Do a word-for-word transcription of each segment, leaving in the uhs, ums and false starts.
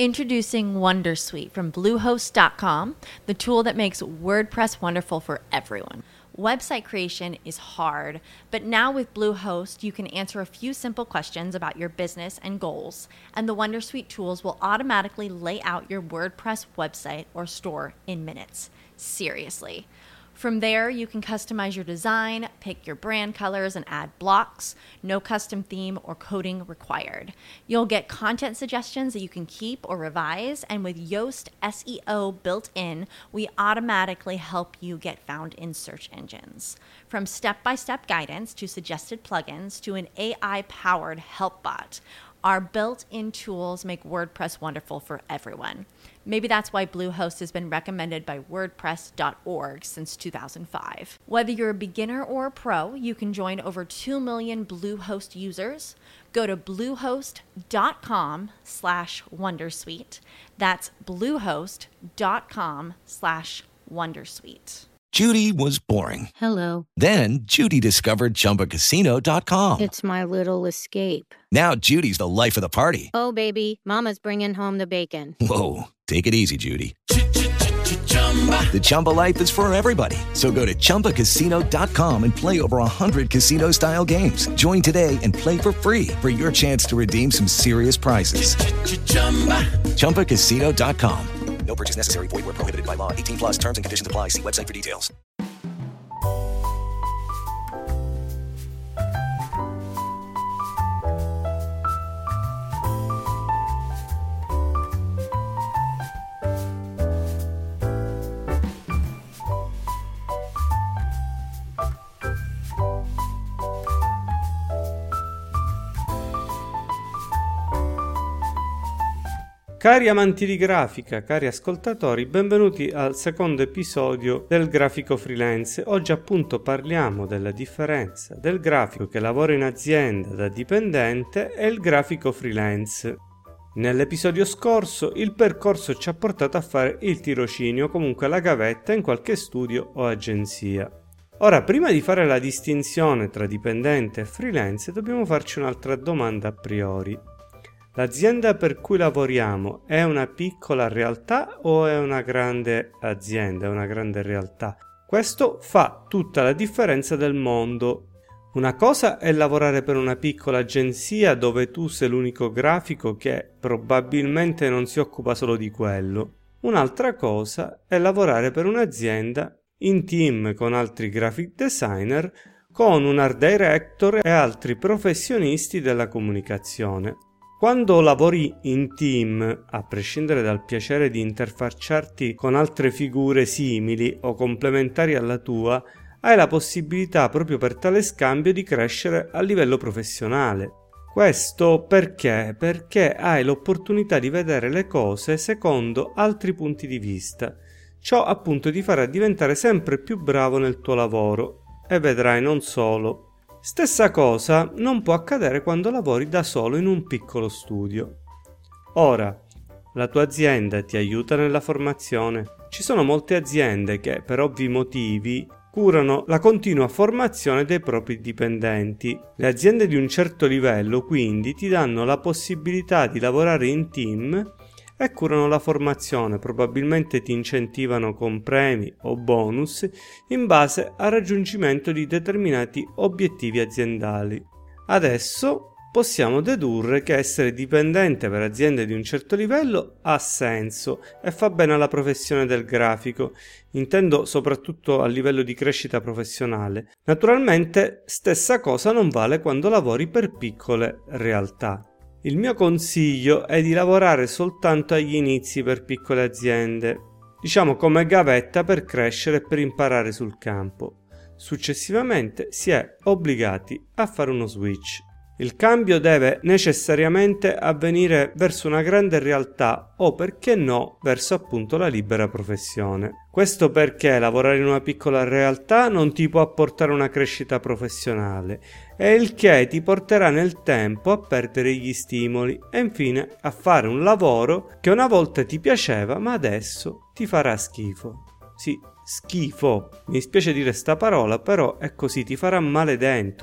Introducing Wondersuite from Bluehost dot com, the tool that makes WordPress wonderful for everyone. Website creation is hard, but now with Bluehost, you can answer a few simple questions about your business and goals, and the Wondersuite tools will automatically lay out your WordPress website or store in minutes. Seriously. From there, you can customize your design, pick your brand colors, and add blocks. No custom theme or coding required. You'll get content suggestions that you can keep or revise, and with Yoast S E O built in, we automatically help you get found in search engines. From step-by-step guidance to suggested plugins to an A I-powered help bot, our built-in tools make WordPress wonderful for everyone. Maybe that's why Bluehost has been recommended by WordPress dot org since two thousand five. Whether you're a beginner or a pro, you can join over two million Bluehost users. Go to bluehost dot com slash wondersuite. That's bluehost dot com slash wondersuite. Judy was boring. Hello. Then Judy discovered Chumba Casino dot com. It's my little escape. Now Judy's the life of the party. Oh, baby, mama's bringing home the bacon. Whoa, take it easy, Judy. The Chumba life is for everybody. So go to Chumba Casino dot com and play over one hundred casino-style games. Join today and play for free for your chance to redeem some serious prizes. Chumba Casino dot com. No purchase necessary. Void where prohibited by law. eighteen plus terms and conditions apply. See website for details. Cari amanti di grafica, cari ascoltatori, benvenuti al secondo episodio del Grafico Freelance. Oggi appunto parliamo della differenza del grafico che lavora in azienda da dipendente e il grafico freelance. Nell'episodio scorso il percorso ci ha portato a fare il tirocinio, comunque la gavetta in qualche studio o agenzia. Ora, prima di fare la distinzione tra dipendente e freelance, dobbiamo farci un'altra domanda a priori. L'azienda per cui lavoriamo è una piccola realtà o è una grande azienda, è una grande realtà? Questo fa tutta la differenza del mondo. Una cosa è lavorare per una piccola agenzia dove tu sei l'unico grafico che probabilmente non si occupa solo di quello. Un'altra cosa è lavorare per un'azienda in team con altri graphic designer, con un art director e altri professionisti della comunicazione. Quando lavori in team, a prescindere dal piacere di interfacciarti con altre figure simili o complementari alla tua, hai la possibilità proprio per tale scambio di crescere a livello professionale. Questo perché? Perché hai l'opportunità di vedere le cose secondo altri punti di vista. Ciò appunto ti farà diventare sempre più bravo nel tuo lavoro e vedrai non solo. Stessa cosa non può accadere quando lavori da solo in un piccolo studio. Ora, la tua azienda ti aiuta nella formazione. Ci sono molte aziende che, per ovvi motivi, curano la continua formazione dei propri dipendenti. Le aziende di un certo livello, quindi, ti danno la possibilità di lavorare in team e curano la formazione, probabilmente ti incentivano con premi o bonus in base al raggiungimento di determinati obiettivi aziendali. Adesso possiamo dedurre che essere dipendente per aziende di un certo livello ha senso e fa bene alla professione del grafico, intendo soprattutto a livello di crescita professionale. Naturalmente, stessa cosa non vale quando lavori per piccole realtà. Il mio consiglio è di lavorare soltanto agli inizi per piccole aziende, diciamo come gavetta per crescere e per imparare sul campo. Successivamente si è obbligati a fare uno switch. Il cambio deve necessariamente avvenire verso una grande realtà o, perché no, verso appunto la libera professione. Questo perché lavorare in una piccola realtà non ti può apportare una crescita professionale e il che ti porterà nel tempo a perdere gli stimoli e infine a fare un lavoro che una volta ti piaceva ma adesso ti farà schifo. Sì, schifo. Mi dispiace dire sta parola, però è così, ti farà male dentro.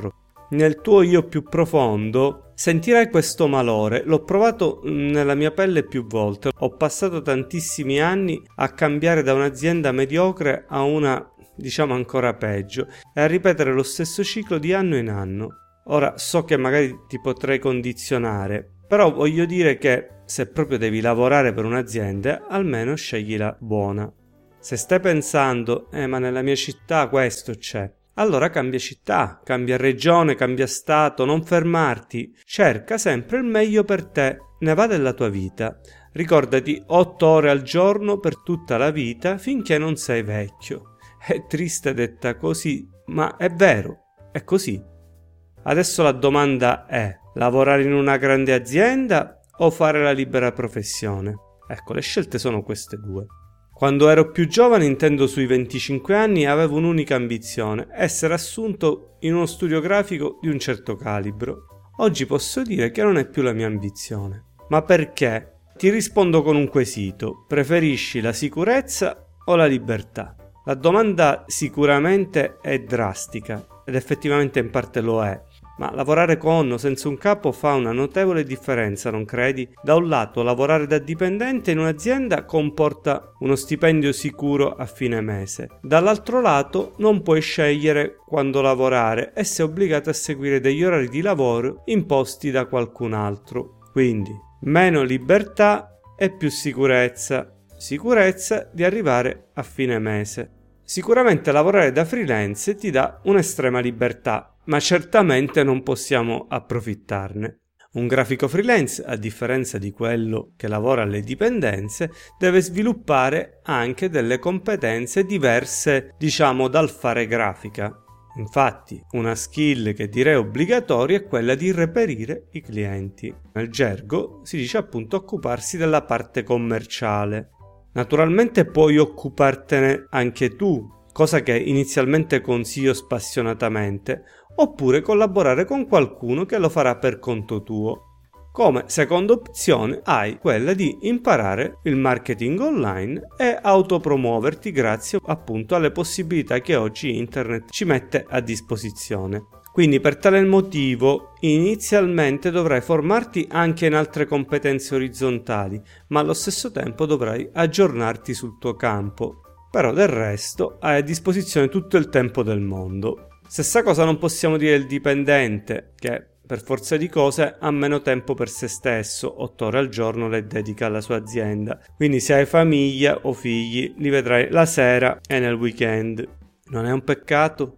nel tuo io più profondo sentirai questo malore. L'ho provato nella mia pelle più volte. Ho passato tantissimi anni a cambiare da un'azienda mediocre a una, diciamo, ancora peggio e a ripetere lo stesso ciclo di anno in anno. Ora so che magari ti potrei condizionare, però voglio dire che se proprio devi lavorare per un'azienda, almeno sceglila buona. Se stai pensando, eh ma nella mia città questo c'è, allora cambia città, cambia regione, cambia stato, non fermarti. Cerca sempre il meglio per te, ne va della tua vita. Ricordati otto ore al giorno per tutta la vita finché non sei vecchio. È triste detta così, ma è vero, è così. Adesso la domanda è: lavorare in una grande azienda o fare la libera professione? Ecco, le scelte sono queste due. Quando ero più giovane, intendo sui venticinque anni, avevo un'unica ambizione: essere assunto in uno studio grafico di un certo calibro. Oggi posso dire che non è più la mia ambizione. Ma perché? Ti rispondo con un quesito: preferisci la sicurezza o la libertà? La domanda sicuramente è drastica, ed effettivamente in parte lo è. Ma lavorare con o senza un capo fa una notevole differenza, non credi? Da un lato, lavorare da dipendente in un'azienda comporta uno stipendio sicuro a fine mese. Dall'altro lato, non puoi scegliere quando lavorare e sei obbligato a seguire degli orari di lavoro imposti da qualcun altro. Quindi, meno libertà e più sicurezza. Sicurezza di arrivare a fine mese. Sicuramente lavorare da freelance ti dà un'estrema libertà, ma certamente non possiamo approfittarne. Un grafico freelance, a differenza di quello che lavora alle dipendenze, deve sviluppare anche delle competenze diverse, diciamo, dal fare grafica. Infatti, una skill che direi obbligatoria è quella di reperire i clienti. Nel gergo si dice appunto occuparsi della parte commerciale. Naturalmente puoi occupartene anche tu, cosa che inizialmente consiglio spassionatamente, oppure collaborare con qualcuno che lo farà per conto tuo. Come seconda opzione hai quella di imparare il marketing online e autopromuoverti grazie appunto alle possibilità che oggi internet ci mette a disposizione. Quindi per tale motivo inizialmente dovrai formarti anche in altre competenze orizzontali, ma allo stesso tempo dovrai aggiornarti sul tuo campo. Però del resto hai a disposizione tutto il tempo del mondo. Stessa cosa non possiamo dire il dipendente, che per forza di cose ha meno tempo per se stesso, otto ore al giorno le dedica alla sua azienda. Quindi se hai famiglia o figli li vedrai la sera e nel weekend. Non è un peccato?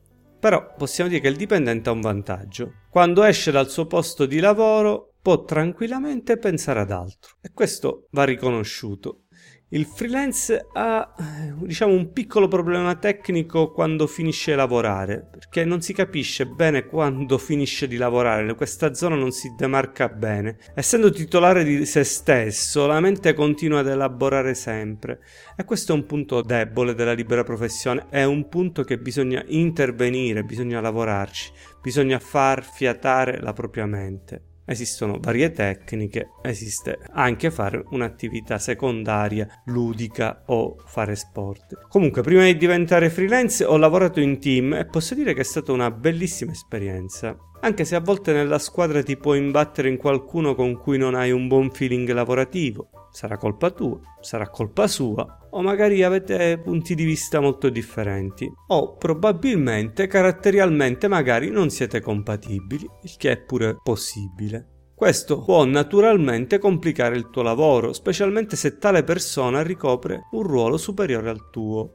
Però possiamo dire che il dipendente ha un vantaggio. Quando esce dal suo posto di lavoro può tranquillamente pensare ad altro, e questo va riconosciuto. Il freelance ha, diciamo, un piccolo problema tecnico quando finisce di lavorare, perché non si capisce bene quando finisce di lavorare, questa zona non si demarca bene. Essendo titolare di se stesso, la mente continua ad elaborare sempre, e questo è un punto debole della libera professione, è un punto che bisogna intervenire, bisogna lavorarci, bisogna far fiatare la propria mente. Esistono varie tecniche, esiste anche fare un'attività secondaria, ludica o fare sport. Comunque, prima di diventare freelance ho lavorato in team e posso dire che è stata una bellissima esperienza. Anche se a volte nella squadra ti puoi imbattere in qualcuno con cui non hai un buon feeling lavorativo. Sarà colpa tua, sarà colpa sua, o magari avete punti di vista molto differenti, o probabilmente caratterialmente magari non siete compatibili, il che è pure possibile. Questo può naturalmente complicare il tuo lavoro, specialmente se tale persona ricopre un ruolo superiore al tuo.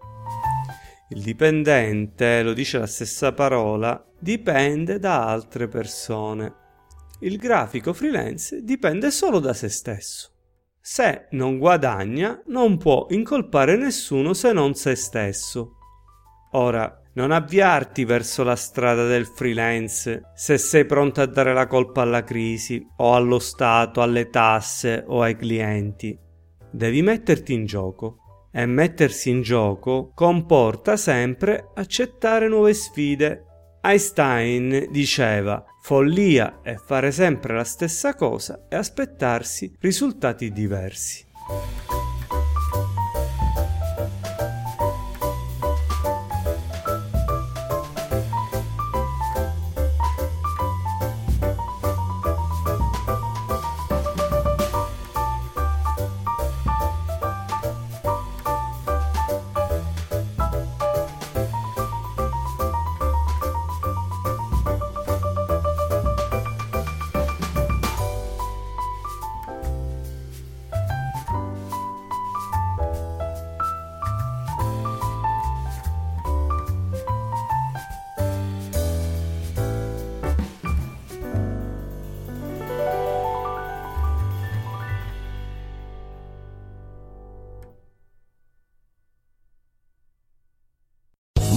Il dipendente, lo dice la stessa parola, dipende da altre persone. Il grafico freelance dipende solo da se stesso. Se non guadagna, non può incolpare nessuno se non se stesso. Ora, non avviarti verso la strada del freelance se sei pronto a dare la colpa alla crisi, o allo Stato, alle tasse o ai clienti. Devi metterti in gioco. E mettersi in gioco comporta sempre accettare nuove sfide. Einstein diceva: follia è fare sempre la stessa cosa e aspettarsi risultati diversi.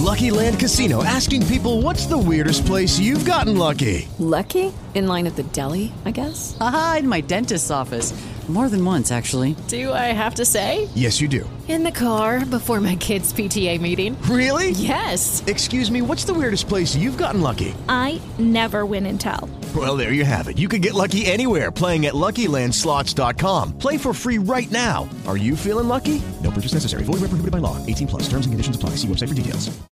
Lucky Land Casino, asking people, what's the weirdest place you've gotten lucky? Lucky? In line at the deli, I guess? Aha, in my dentist's office. More than once, actually. Do I have to say? Yes, you do. In the car before my kids' P T A meeting. Really? Yes. Excuse me, what's the weirdest place you've gotten lucky? I never win and tell. Well, there you have it. You can get lucky anywhere, playing at Lucky Land Slots dot com. Play for free right now. Are you feeling lucky? No purchase necessary. Void where prohibited by law. eighteen plus. Terms and conditions apply. See website for details.